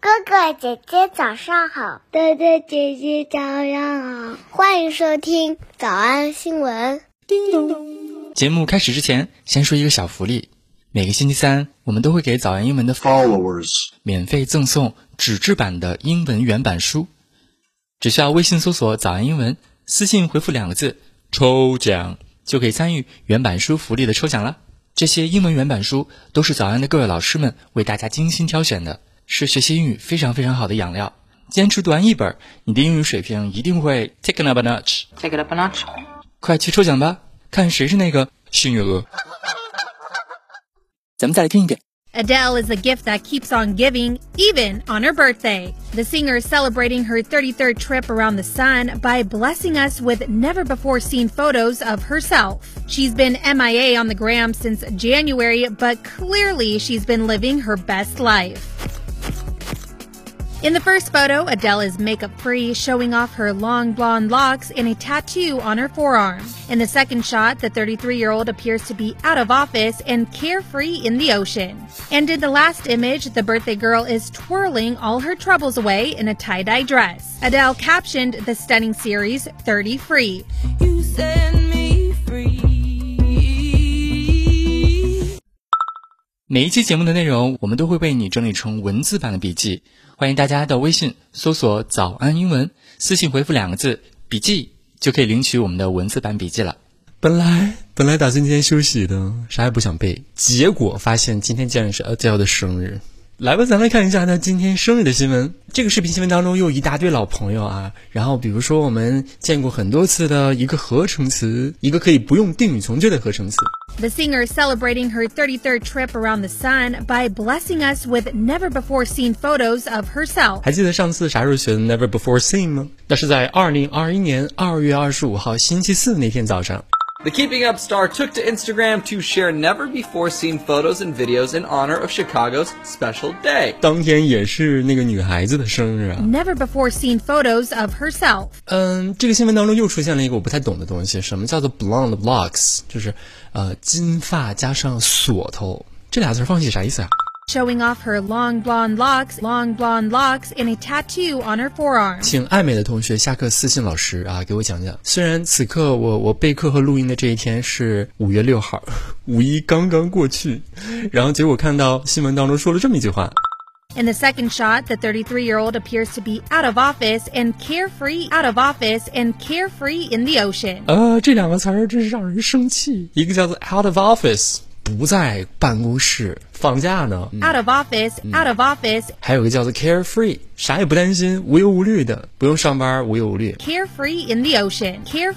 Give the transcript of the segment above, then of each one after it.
哥哥姐姐早上好， 哥哥姐姐早上好， 欢迎收听早安新闻。 叮咚。节目开始之前，先说一个小福利。每个星期三，我们都会给早安英文的 followers 免费赠送纸质版的英文原版书。只需要微信搜索早安英文，私信回复2个字抽奖，就可以参与原版书福利的抽奖了。这些英文原版书都是早安的各位老师们为大家精心挑选的，是学习英语非常非常好的养料。坚持读完一本，你的英语水平一定会 take it up a notch。 Take it up a notch。 快去抽奖吧，看谁是那个幸运儿。咱们再来听一遍。 Adele is a gift that keeps on giving, even on her birthday. The singer is celebrating her 33rd trip around the sun by blessing us with never-before-seen photos of herself. She's been MIA on the gram since January, but clearly she's been living her best life. In the first photo, Adele is makeup-free, showing off her long blonde locks and a tattoo on her forearm. In the second shot, the 33-year-old appears to be out of office and carefree in the ocean. And in the last image, the birthday girl is twirling all her troubles away in a tie-dye dress. Adele captioned the stunning series 30 Free. You set me free. 每一期节目的内容，我们都会为你整理成文字版的笔记。欢迎大家到微信搜索早安英文，私信回复2个字笔记，就可以领取我们的文字版笔记了。本来打算今天休息的，啥也不想背，结果发现今天竟然是 Adele 的生日。来吧，咱来看一下他今天生日的新闻。这个视频新闻当中又一大堆老朋友啊，然后比如说我们见过很多次的一个合成词，一个可以不用定语从句的合成词。 The singer is celebrating her 33rd trip around the sun by blessing us with never-before-seen photos of herself. 还记得上次啥时候学的 never before seen 吗？那是在2021年2月25号星期四那天早上。 The Keeping Up star took to Instagram to share never-before-seen photos and videos in honor of Chicago's special day. 当天也是那个女孩子的生日啊。 Never-before-seen photos of herself. 这个新闻当中又出现了一个我不太懂的东西，什么叫做 blonde locks？ 就是金发加上锁头，这俩字放一起啥意思啊 ？Showing off her long blonde locks, and a tattoo on her forearm. 请爱美的同学下课私信老师啊，给我讲讲。虽然此刻我备课和录音的这一天是5月6号，5·1刚刚过去，然后结果看到新闻当中说了这么一句话。 In the second shot, the 33-year-old appears to be out of office and carefree in the ocean. 这两个词儿真是让人生气。一个叫做 out of office。不在办公室放假呢 out of office 还有个叫做 carefree， 啥也不担心，无忧无虑的，不用上班，无忧无虑。 carefree in the ocean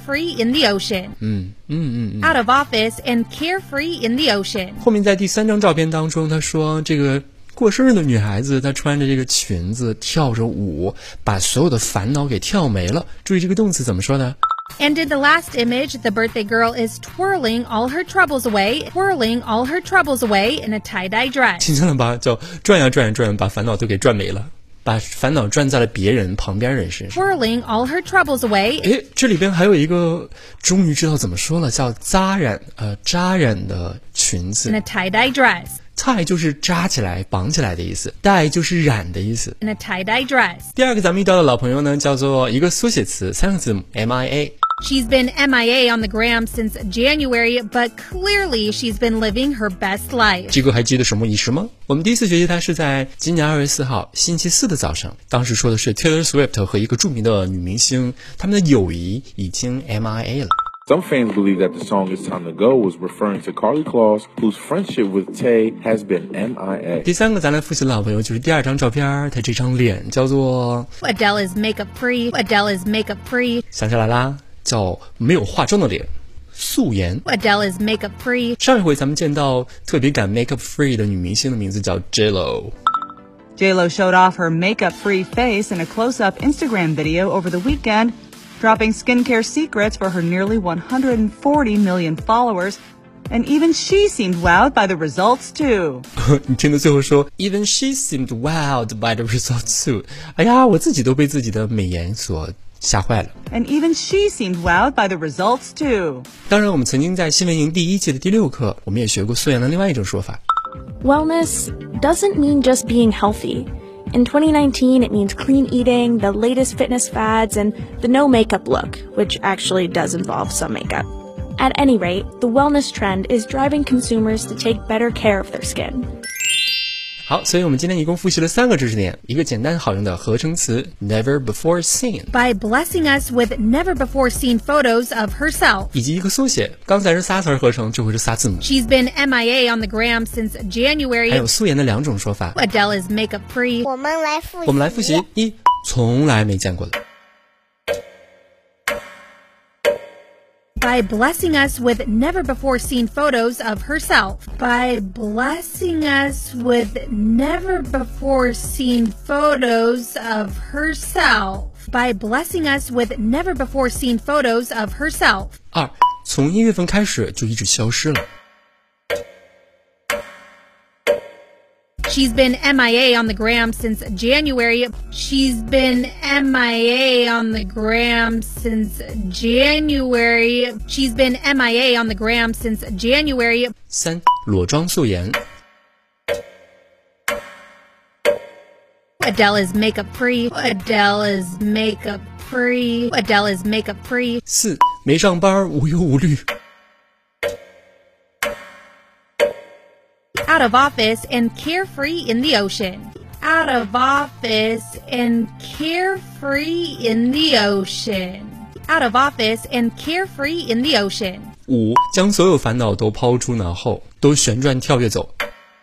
out of office and carefree in the ocean。 后面在第3张照片当中，他说这个过生日的女孩子，她穿着这个裙子跳着舞，把所有的烦恼给跳没了。注意这个动词怎么说的 ？And in the last image, the birthday girl is twirling all her troubles away in a tie-dye dress. 听见了吧？叫转呀转呀转，把烦恼都给转没了，把烦恼转在了别人旁边人身上。 Twirling all her troubles away. 这里边还有一个终于知道怎么说了，叫扎染的裙子。 In a tie-dye dress. tie 就是扎起来绑起来的意思， dye 就是染的意思。 In a tie-dye dress. 第二个咱们遇到的老朋友呢，叫做一个缩写词，3个字母 MIA。 She's been MIA on the gram since January, but clearly she's been living her best life. 这个还记得什么仪式吗？我们第一次学习它是在今年2月4号星期四的早上，当时说的是 Taylor Swift 和一个著名的女明星，他们的友谊已经 MIA 了。 Some fans believe that the song It's Time to Go was referring to Carly Claus, whose friendship with Tay has been MIA. 第3个咱来复习的老朋友就是第2张照片，他这张脸叫做 Adele is makeup-free. 想起来啦，叫没有化妆的脸，素颜。 Adele is makeup-free. 上一回咱们见到特别感 makeup free 的女明星的名字叫 J-Lo. J-Lo showed off her makeup-free face in a close-up Instagram video over the weekend, dropping skincare secrets for her nearly 140 million followers, and even she seemed wowed by the results too. 你听到最后说 Even she seemed wowed by the results too. 哎呀，我自己都被自己的美颜所吓坏了。 And even she seemed wowed by the results too. 当然我们曾经在新闻营第1季的第6课，我们也学过素颜的另外一种说法。 Wellness doesn't mean just being healthy. In 2019, it means clean eating, the latest fitness fads, and the no makeup look, which actually does involve some makeup. At any rate, the wellness trend is driving consumers to take better care of their skin. 好，所以我们今天一共复习了3个知识点，一个简单好用的合成词 never before seen by blessing us with never before seen photos of herself. 以及一个缩写，刚才是仨词合成，这回是仨字母。 She's been MIA on the gram since January. 还有素颜的2种说法。 Adele is makeup free. 我们来复习。 一，从来没见过的。 By blessing us with never before seen photos of herself. By blessing us with never before seen photos of herself. By blessing us with never before seen photos of herself. 2，从1月份开始就一直消失了。 She's been MIA on the gram since January. She's been MIA on the gram since January. She's been MIA on the gram since January. 3，裸妆素颜。 Adele is makeup free. Adele is makeup free. Adele is makeup free. 4，没上班无忧无虑。 Out of office and carefree in the ocean. Out of office and carefree in the ocean. Out of office and carefree in the ocean. 5，将所有烦恼都抛诸脑后，都旋转跳跃走。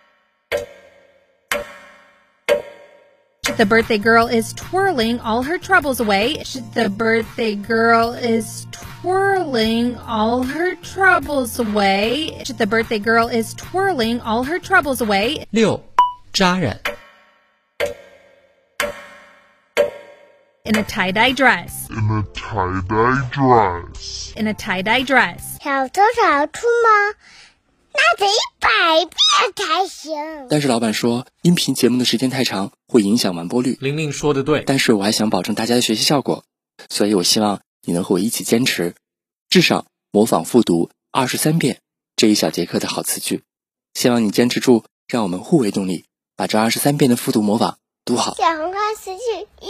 The birthday girl is twirling all her troubles away. The birthday girl is twirling all her troubles away. The birthday girl is twirling all her troubles away. 6，扎染。 In a tie-dye dress. In a tie-dye dress. In a tie-dye dress. 小偷小兔吗？那得100遍才行。 但是老板说，音频节目的时间太长，会影响完播率。 玲玲说的对， 但是我还想保证大家的学习效果，所以我希望你能和我一起坚持，至少模仿复读23遍这一小节课的好词句。希望你坚持住，让我们互为动力，把这23遍的复读模仿读好。 小红花词句1。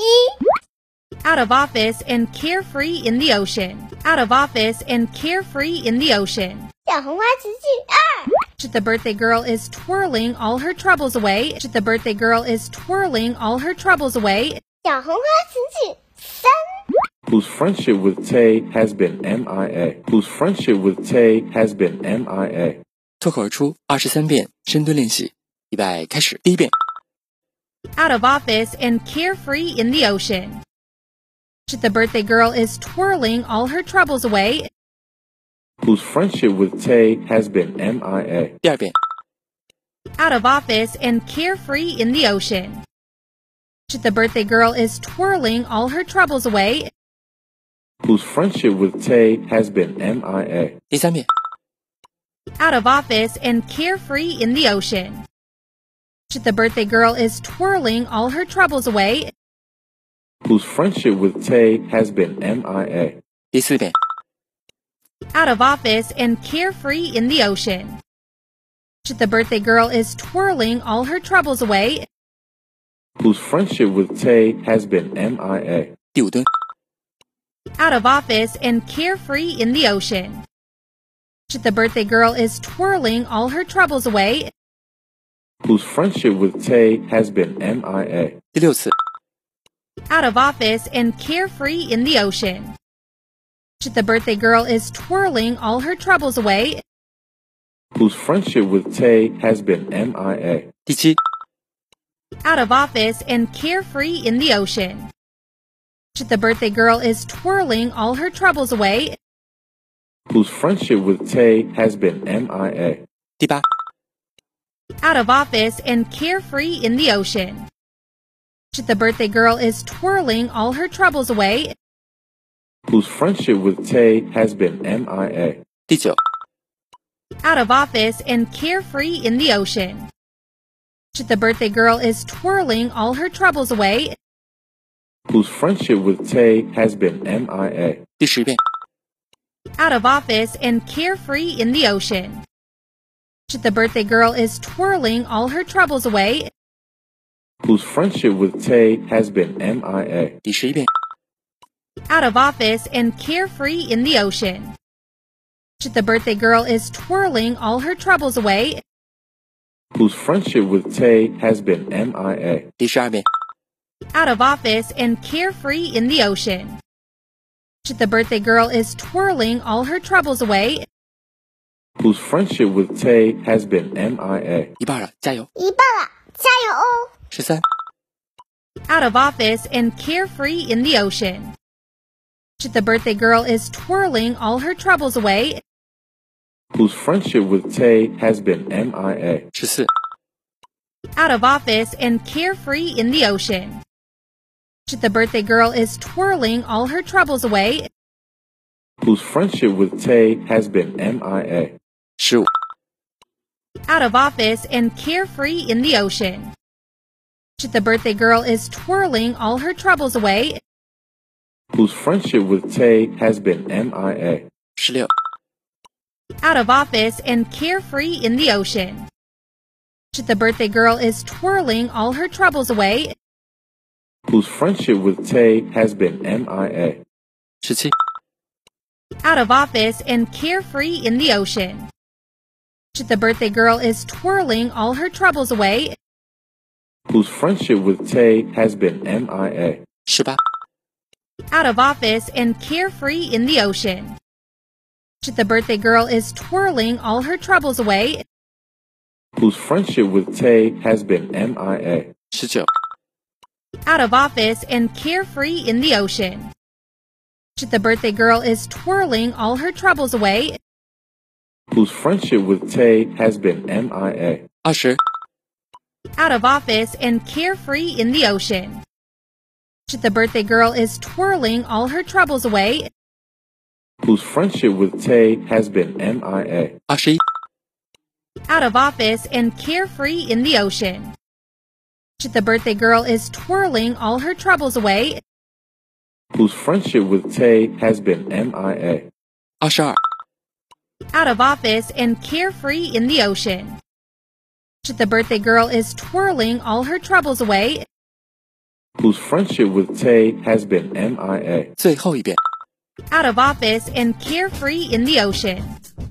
Out of office and carefree in the ocean. Out of office and carefree in the ocean. 小红花词句2。 The birthday girl is twirling all her troubles away. The birthday girl is twirling all her troubles away. 小红花词句3。 Whose friendship with Tay has been MIA. Whose friendship with Tay has been MIA. 脱口而出23遍深蹲练习，预备开始。第1遍。 Out of office and carefree in the ocean. The birthday girl is twirling all her troubles away. Whose friendship with Tay has been MIA. 第2遍。 Out of office and carefree in the ocean. The birthday girl is twirling all her troubles away. Whose friendship with Tay has been MIA. 第3遍。 Out of office and carefree in the ocean. The birthday girl is twirling all her troubles away. Whose friendship with Tay has been MIA. 第4遍。 Out of office and carefree in the ocean. The birthday girl is twirling all her troubles away. Whose friendship with Tay has been MIA. 第5蹲。 Out of office and carefree in the ocean. The birthday girl is twirling all her troubles away. Whose friendship with Tay has been MIA. 第6次。 Out of office and carefree in the ocean. The birthday girl is twirling all her troubles away. Whose friendship with Tay has been MIA. 第7。 Out of office and carefree in the ocean. The birthday girl is twirling all her troubles away. Whose friendship with Tay has been MIA. 第8。 Out of office and carefree in the ocean. The birthday girl is twirling all her troubles away. Whose friendship with Tay has been MIA. 第9。 Out of office and carefree in the ocean. The birthday girl is twirling all her troubles away. Whose friendship with Tay has been MIA. 第10遍。 Out of office and carefree in the ocean. The birthday girl is twirling all her troubles away. whose friendship with Tay has been MIA. 第11遍 Out of office and carefree in the ocean. The birthday girl is twirling all her troubles away. Whose friendship with Tay has been MIA. 第12遍 Out of office and carefree in the ocean. The birthday girl is twirling all her troubles away. Whose friendship with Tay has been MIA. 一半了，加油！ 一半了，加油哦 13 Out of office and carefree in the ocean. The birthday girl is twirling all her troubles away. Whose friendship with Tay has been MIA. 14 Out of office and carefree in the ocean. The birthday girl is twirling all her troubles away. Whose friendship with Tay has been MIA. 15 Out of office and carefree in the ocean. The birthday girl is twirling all her troubles away. Whose friendship with Tay has been MIA. 16 Out of office and carefree in the ocean. The birthday girl is twirling all her troubles away. Whose friendship with Tay has been MIA. 17 Out of office and carefree in the ocean. The birthday girl is twirling all her troubles away. Whose friendship with Tay has been MIA. 18 Out of office and carefree in the ocean. The birthday girl is twirling all her troubles away. Whose friendship with Tay has been MIA. 19 Out of office and carefree in the ocean. The birthday girl is twirling all her troubles away. Whose friendship with Tay has been MIA. 20 Out of office and carefree in the ocean. The birthday girl is twirling all her troubles away. Whose friendship with Tay has been MIA. 21 Out of office and carefree in the ocean. The birthday girl is twirling all her troubles away. Whose friendship with Tay has been MIA. 22 Out of office and carefree in the ocean. The birthday girl is twirling all her troubles away. Whose friendship with Tay has been MIA. 最后一遍 Out of office and carefree in the ocean.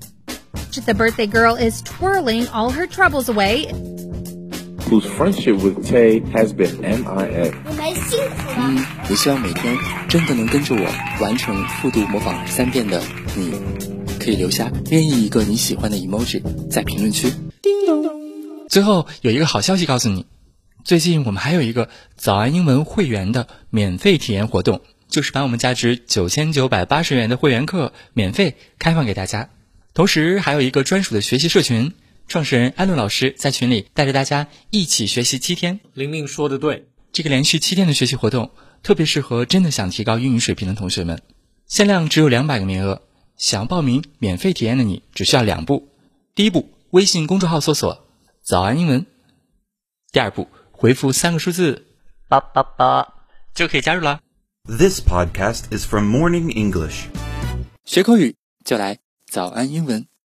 The birthday girl is twirling all her troubles away. Whose friendship with Tay has been MIA. 你们辛苦了。 我希望每天真的能跟着我完成复读模仿3遍的你，可以留下任意一个你喜欢的 emoji 在评论区。 最后有一个好消息告诉你，最近我们还有一个早安英文会员的免费体验活动，就是把我们价值9980元的会员课免费开放给大家，同时还有一个专属的学习社群，创始人艾伦老师在群里带着大家一起学习7天。 玲玲说的对， 这个连续7天的学习活动特别适合真的想提高英语水平的同学们，限量只有200个名额，想要报名免费体验的你只需要2步。第一步，微信公众号搜索早安英文，第二步，回复3个数字888就可以加入了。 This podcast is from Morning English. 学口语就来早安英文。